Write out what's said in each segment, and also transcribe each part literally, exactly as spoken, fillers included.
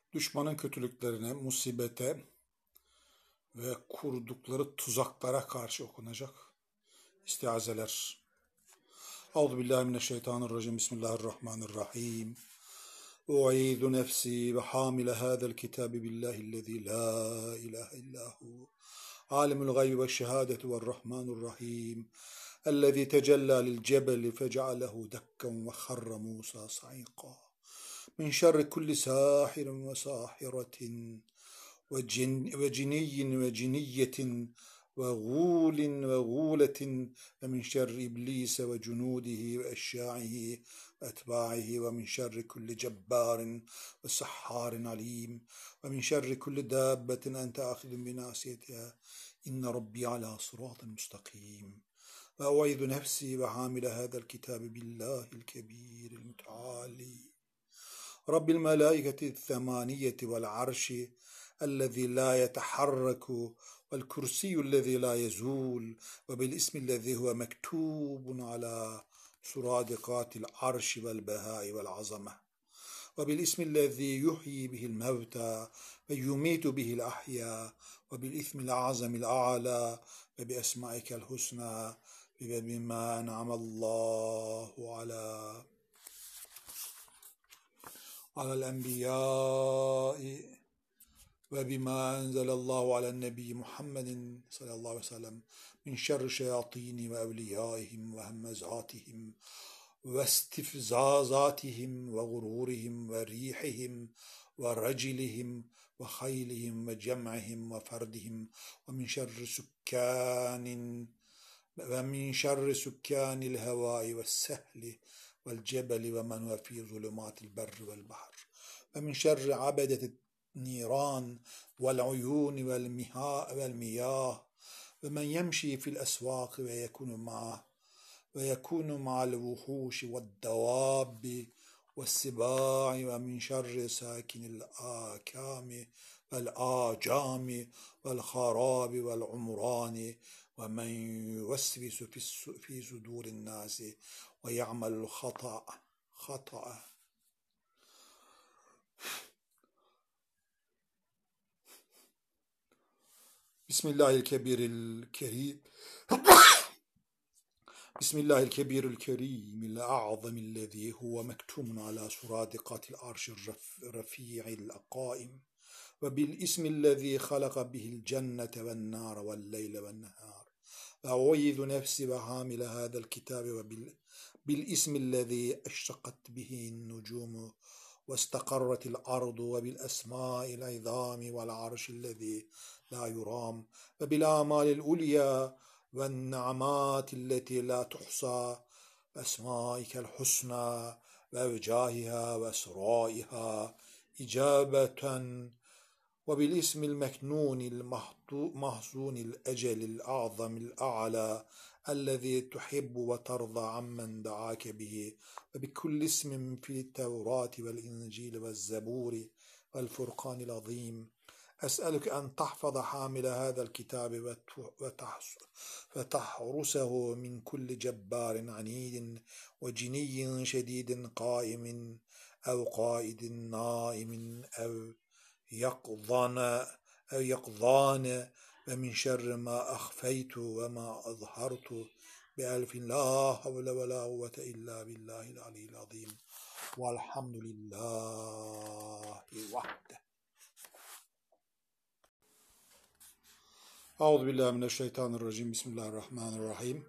Düşmanın kötülüklerine, musibete ve kurdukları tuzaklara karşı okunacak istiazeler. Euzubillahimineşşeytanirracim. Bismillahirrahmanirrahim. U'idhu nefsi ve hamile hâzel kitâbi billâhillezî lâ ilâhe illâhu. Alimul gaybi ve şehâdeti ve rahmanurrahim. Ellezî tecellâ lil cebeli fece'alehu dekken ve harra Musa sa'iqâ. Min şerri kulli sâhirin ve sâhiratin ve ciniyyin ve ciniyyetin ve gûlin ve gûletin ve min şerri iblise ve cunudihi ve eşşâ'ihi ve etbâ'ihi ve min şerri kulli cebbârin ve sahhârin alîm ve min şerri kulli dâbbetin ente âkhidun binâsiyetiha inne rabbi alâ sırâtin mustakîm. Ve u'idhu nefsi ve hamile hâzel kitâbi billâhil kebîril müteâlî Rabbil melâiketi themâniyeti vel arşi ellezî lâ yeteharraku vel kursiyullezî lâ yezûl ve bil ismillezî huve mektûbun alâ suradikatil arşi vel behâi vel azame ve bil ismillezî yuhyi bihil mevtâ ve yumîtu bihil ahyâ ve bil ismil azamil a'lâ ve bi esmâikel husnâ ve bimâ en'amallâhu alâ alel enbiyâi ve bima enzelallahu alen nebiyyi Muhammedin sallallahu aleyhi ve sellem min şerri şeyatini ve evliyaihim ve hemmezatihim ve istifzazatihim ve gururihim ve rihihim ve racilihim ve haylihim ve cem'ihim ve ferdihim ve min şerri sükkanin ve min şerri sükkanil hevai ve sehli vel cebeli ve men ve fi zulümatil berri vel bahr ve min şerri abedetit niran vel uyun vel miha vel miyah ve men yemşi fil esvaq ve yekunu ma ve yekunu ma'al vuhuş ve davab ve sibai ve min şerri sakinil akami vel acami vel harabi vel umrani ve men yuvesvisu fi sudurin nasi ve ya'malul hata hata. Bismillahirkebiril kerim. Bismillahil kebiril kerimil a'zamillezî huve mektumun ala suradikatil arşir rafi'il aqaim ve bil ismillezî halaka bihil cennete ven nâre vel leyle ven nehâr ve u'idhu nefsi ve hamile hâzel kitâbi ve bil bil ismillezî eştakat bihin nucumu ve istaqarratil ardu ve bil esmâil izâmi vel arşillezî la yuram ve bil âmâlil ulyâ ve ni'amâtilleti la tuhsâ ve esmâikel husnâ ve evcâhihâ ve esrâihâ icâbeten ve bil ismil meknûnil mahzûnil ecelil a'zamil a'lâ ellezî tuhibbu ve tarda ammen da'âke bihi ve bi kulli ismin fil tevrâti vel incîl ve zebûri vel furqânil azîm. أسألك أن تحفظ حامل هذا الكتاب وتحرسه من كل جبار عنيد وجني شديد قائم أو قائد نائم أو يقظان أو يقظان ومن شر ما أخفيت وما أظهرت بألف لا حول ولا قوة إلا بالله العلي العظيم والحمد لله وحده. Euzubillahimineşşeytanirracim. Bismillahirrahmanirrahim.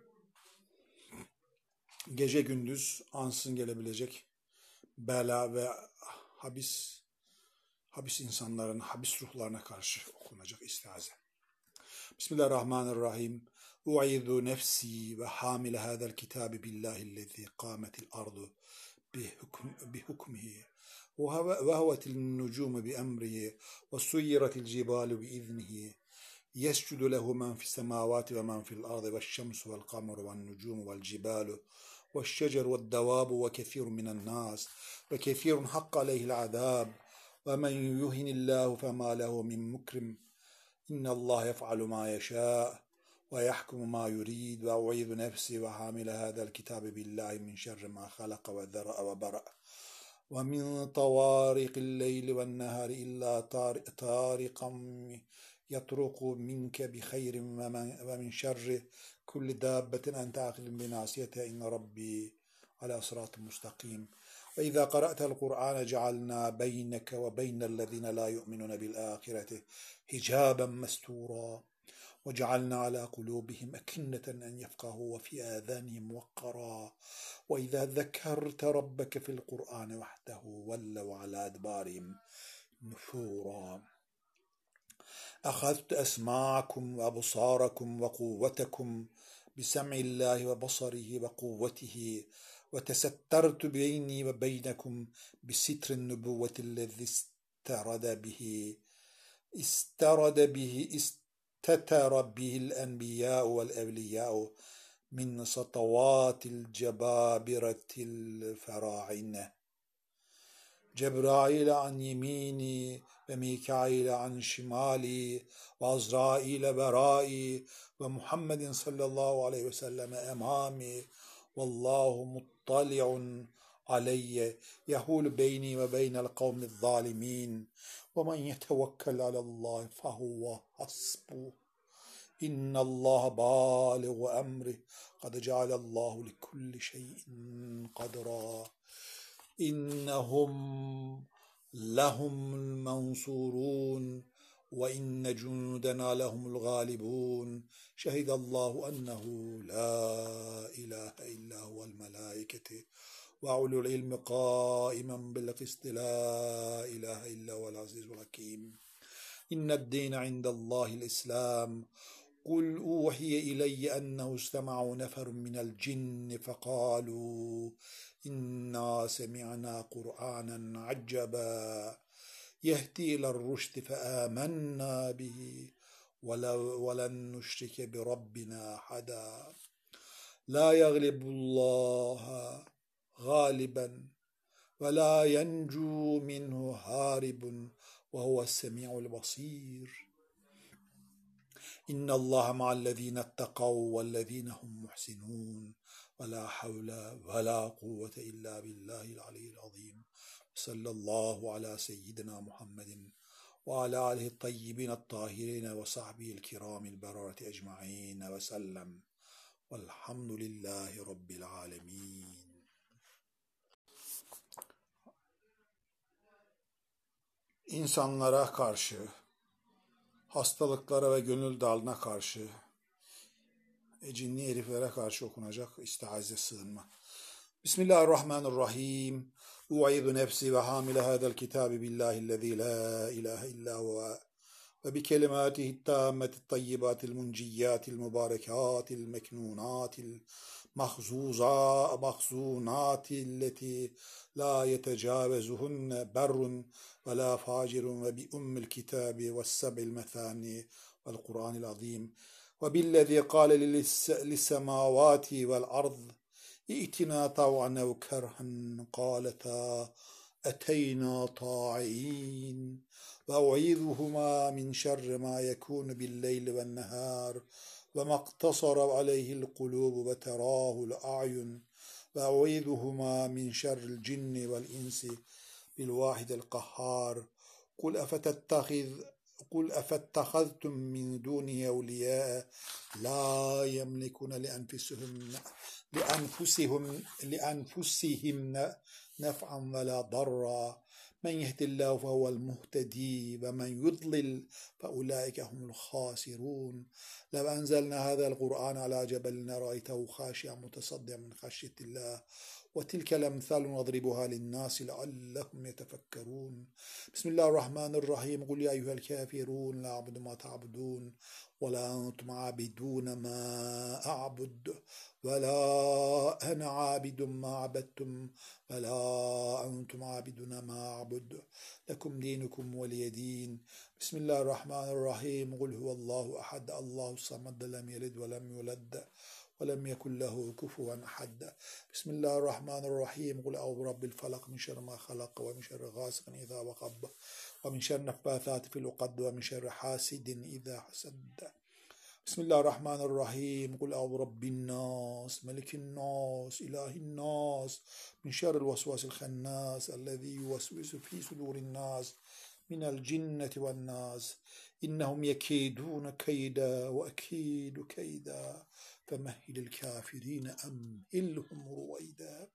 Gece gündüz ansızın gelebilecek bela ve habis habis insanların, habis ruhlarına karşı okunacak istiaze. Bismillahirrahmanirrahim. U'idhu nefsi ve hamile hâzel kitâbi billâhillezî kâmetil ardu bi hukmihi ve hevetil nucumu bi emrihi ve suyyiratil cibalu bi iznihi يسجد له من في السماوات ومن في الأرض والشمس والقمر والنجوم والجبال والشجر والدواب وكثير من الناس وكثير حق عليه العذاب ومن يهن الله فما له من مكرم إن الله يفعل ما يشاء ويحكم ما يريد وأعيذ نفسي وحامل هذا الكتاب بالله من شر ما خلق وذرأ وبرأ ومن طوارق الليل والنهار إلا طارقا يطرق منك بخير ومن شر كل دابة أنت آخذ بناصيتها إن ربي على صراط مستقيم. وإذا قرأت القرآن جعلنا بينك وبين الذين لا يؤمنون بالآخرة حجابا مستورا وجعلنا على قلوبهم أكنة أن يفقهوا وفي آذانهم وقرا وإذا ذكرت ربك في القرآن وحده ولوا على أدبارهم نفورا. أخذت أسماعكم وأبصاركم وقوتكم بسمع الله وبصره وقوته وتسترت بيني وبينكم بستر النبوة الذي استرد به استرد به استتر به الأنبياء والأولياء من سطوات الجبابرة الفراعنة. جبرائيل عن يميني وميكائيل عن شمالي وعزرائيل ورائي ومحمد صلى الله عليه وسلم أمامي والله مطلع علي يحول بيني وبين القوم الظالمين ومن يتوكل على الله فهو حسبه إن الله بالغ أمره قد جعل الله لكل شيء قدرا. إنهم لهم المنصورون وإن جندنا لهم الغالبون شهد الله أنه لا إله إلا هو الملائكة وأولو العلم قائما بالقسط لا إله إلا هو العزيز الحكيم. إن الدين عند الله الإسلام قل أوحي إلي أنه استمع نفر من الجن فقالوا إنا سمعنا قرآنا عجبا يهدي إلى الرشد فآمنا به ولن نشرك بربنا أحدا. لا يغلب الله غالبا ولا ينجو منه هارب وهو السميع البصير. إن الله مع الذين اتقوا والذين هم محسنون ولا حول ولا قوة إلا بالله العلي العظيم. صلى الله على سيدنا محمد وعلى آله الطيبين الطاهرين وصحبه الكرام البررة أجمعين وسلم والحمد لله رب العالمين. İnsanlara karşı, hastalıklara ve gönül dalına karşı, cinni heriflere karşı okunacak istiaze sığınma. Bismillahirrahmanirrahim. U'idhu nefsi ve hamile hadal kitabi billahillezî la ilahe illa huve ve bi kelimâtihi tâmmetit tayyibatil munciyyâtil mübârekâtil meknûnâtil mahzûzâ mahzûnâtilleti la yetecâvezuhunne berrun ve la facirun ve bi ummil kitabi ve seb'il methâni vel Kur'anil azîm ve billezî kâle lissemâvâti vel ard İ'tina tav'an ev kerhen qâletâ eteynâ ta'in ve u'idhuhuma min şerri ma yekûnu billeyli ven nehâr ve maktasara aleyhil kulûbu ve terâhul a'yun ve u'idhuhuma min şerril cinni vel insi bil vâhidil kahhâr. Kul efetettehiz قل أفاتخذتم من دونه أولياء لا يملكون لأنفسهم لأنفسهم لأنفسهم نفعا ولا ضرا من يهد الله فهو المهتدي ومن يضلل فأولئك هم الخاسرون. لو أنزلنا هذا القرآن على جبل لرأيته خاشعا متصدعا من خشية الله وتلك الأمثال نضربها للناس لعلهم يتفكرون. بسم الله الرحمن الرحيم. قل يا أيها الكافرون لا أعبد ما تعبدون ولا أنتم عابدون ما أعبد ولا أنا عابد ما عبدتم ولا أنتم عابدون ما أعبد لكم دينكم ولي دين. بسم الله الرحمن الرحيم. قل هو الله أحد الله الصمد لم يلد ولم يولد ولم يكن له كفوا أحد. بسم الله الرحمن الرحيم. قل أعوذ برب الفلق من شر ما خلق ومن شر غاسق إذا وقب ومن شر النفاثات في العقد ومن شر حاسد إذا حسد. Bismillahirrahmanirrahim. Kul a'udhu rabbin nas, melikin nas, ilahin nas, min şerril vesvasil hannas, ellezî yuvesvisu fî sudurin nas, minel cinneti ven nas. İnnehum yekîdûne keyda ve ekîdu keyda, femehhilil kâfirîne emhilhum ruveyda.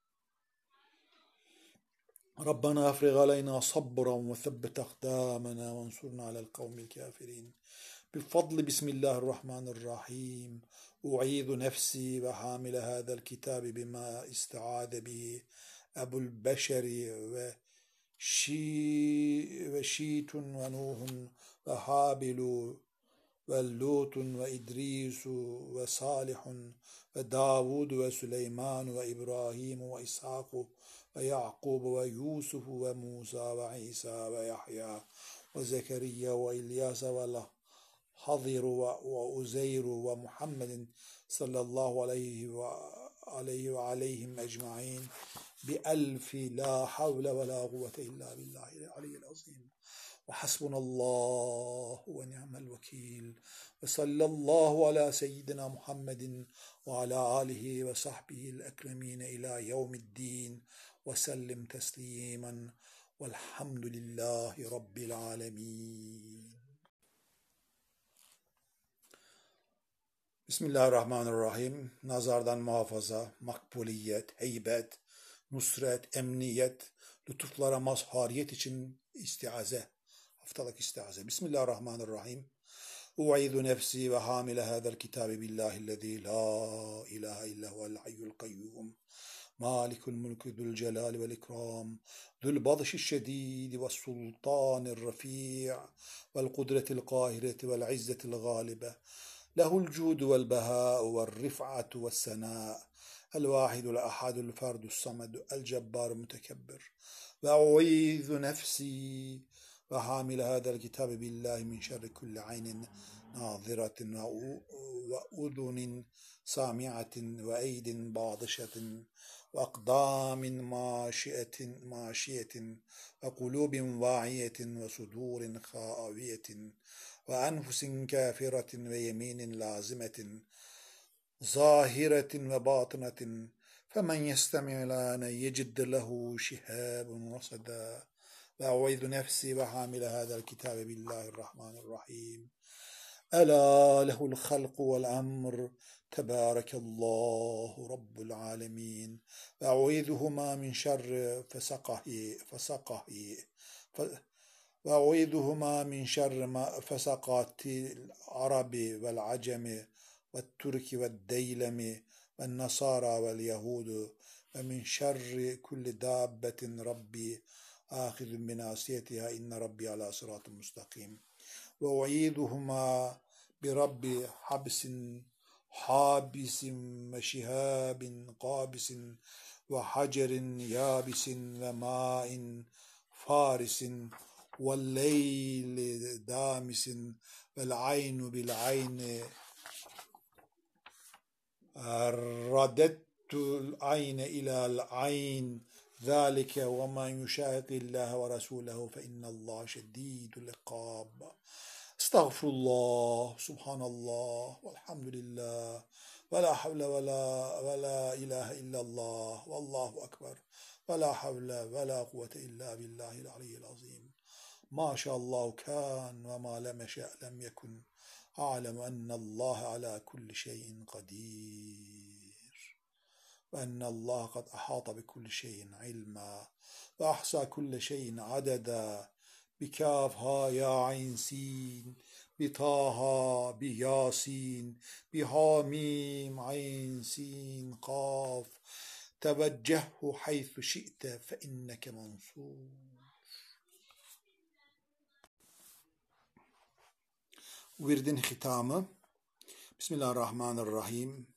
Rabbena afrigh aleyna sabran ve sebbit akdamena ve ensurna alel kavmil kafirin. بفضل بسم الله الرحمن الرحيم أعيذ نفسي وحامل هذا الكتاب بما استعاذ به أبو البشر وشي وشيت ونوح وحابل واللوط وإدريس وصالح وداود وسليمان وإبراهيم وإسحاق ويعقوب ويوسف وموسى وعيسى ويحيى وزكريا وإلياس والله حضر وأزير ومحمد صلى الله عليه وعليه وعليهم أجمعين بألف لا حول ولا قوة إلا بالله العلي العظيم وحسبنا الله ونعم الوكيل وصلى الله على سيدنا محمد وعلى آله وصحبه الأكرمين إلى يوم الدين وسلم تسليما والحمد لله رب العالمين. Bismillahirrahmanirrahim. Nazardan muhafaza, makbuliyet, heybet, nusret, emniyet, lütuflara mazhariyet için istiaze. Haftalık istiaze. Bismillahirrahmanirrahim. U'idhu nefsi ve hamile hâzel kitabi billahillezî la ilahe illa huvel hayyul kayyum. Malikul mulki zul celali vel ikram. Zul badşi şedîdi ve sultanir rafî' vel kudretil kahireti vel izzetil gâlibe. له الجود والبهاء والرفعة والسناء الواحد الأحد الفرد الصمد الجبار المتكبر. وأعيذ نفسي وحامل هذا الكتاب بالله من شر كل عين ناظرة وأذن سامعة وأيد باطشة وأقدام ماشية ماشية وقلوب واعية وصدور خاوية وأنفس كافرة ويمين لازمة ظاهرة وباطنة فمن يستمع الآن يجد له شهاب رصدا. وأعوذ نفسي وحامل هذا الكتاب بالله الرحمن الرحيم ألا له الخلق والأمر تبارك الله رب العالمين. وأعوذهما من شر فسقه فسقه وأعوذهما من شر ما فسقات العرب والعجم والترك والديلم والنصارى واليهود ومن شر كل دابة ربي آخذ بناصيتها إن ربي على صراط مستقيم. وأعيذهما برب حبس حابس وشهاب قابس وحجر يابس وماء فارس والليل دامس والعين بالعين رددت العين إلى العين ذلك وما يشاق الله ورسوله فإن الله شديد العقاب. استغفر الله سبحان الله والحمد لله ولا حول ولا ولا إله إلا الله والله أكبر ولا حول ولا قوة إلا بالله العلي العظيم. ما شاء الله كان وما لم يشأ لم يكن. أعلم أن الله على كل شيء قدير وأن الله قد أحاط بكل شيء علما وأحصى كل شيء عددا. بكاف ها يا عين سين بطه بياسين بحاميم عين سين قاف توجهه حيث شئت فإنك منصور. Virdin hitamı. Bismillahirrahmanirrahim.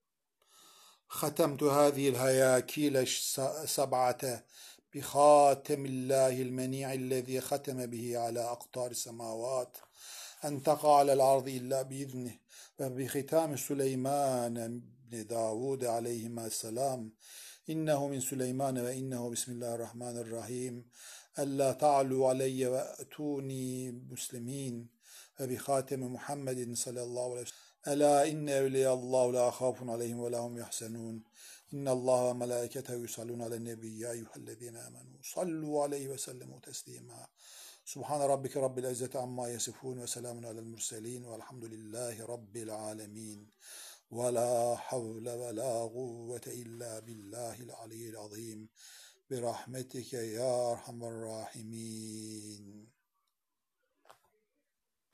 ختمت هذه الهياكيل السبعة بخاتم الله المنيع الذي ختم به على أقطار السماوات أن تقع على الأرض إلا بإذنه. وبختام سليمان بن داود عليهما السلام إنه من سليمان وإنه بسم الله الرحمن الرحيم ألا تعلوا علي وأتوني مسلمين. وبخاتم محمد صلى الله عليه وسلم Ela inne evliyallahu la khafun aleyhim ve lahum yahsenun. İnnallaha ve melâiketehu yusallûne alen nebiyyi ya eyyühellezîne âmenû sallu aleyhi ve sellemû teslîmâ. Subhane rabbike rabbil izzeti amma yasifun ve selamun alel murselin velhamdülillahi rabbil alemin. Ve la havle ve la kuvvete illa billahil aliyyil azim. Bi rahmetike ya erhamer rahimin.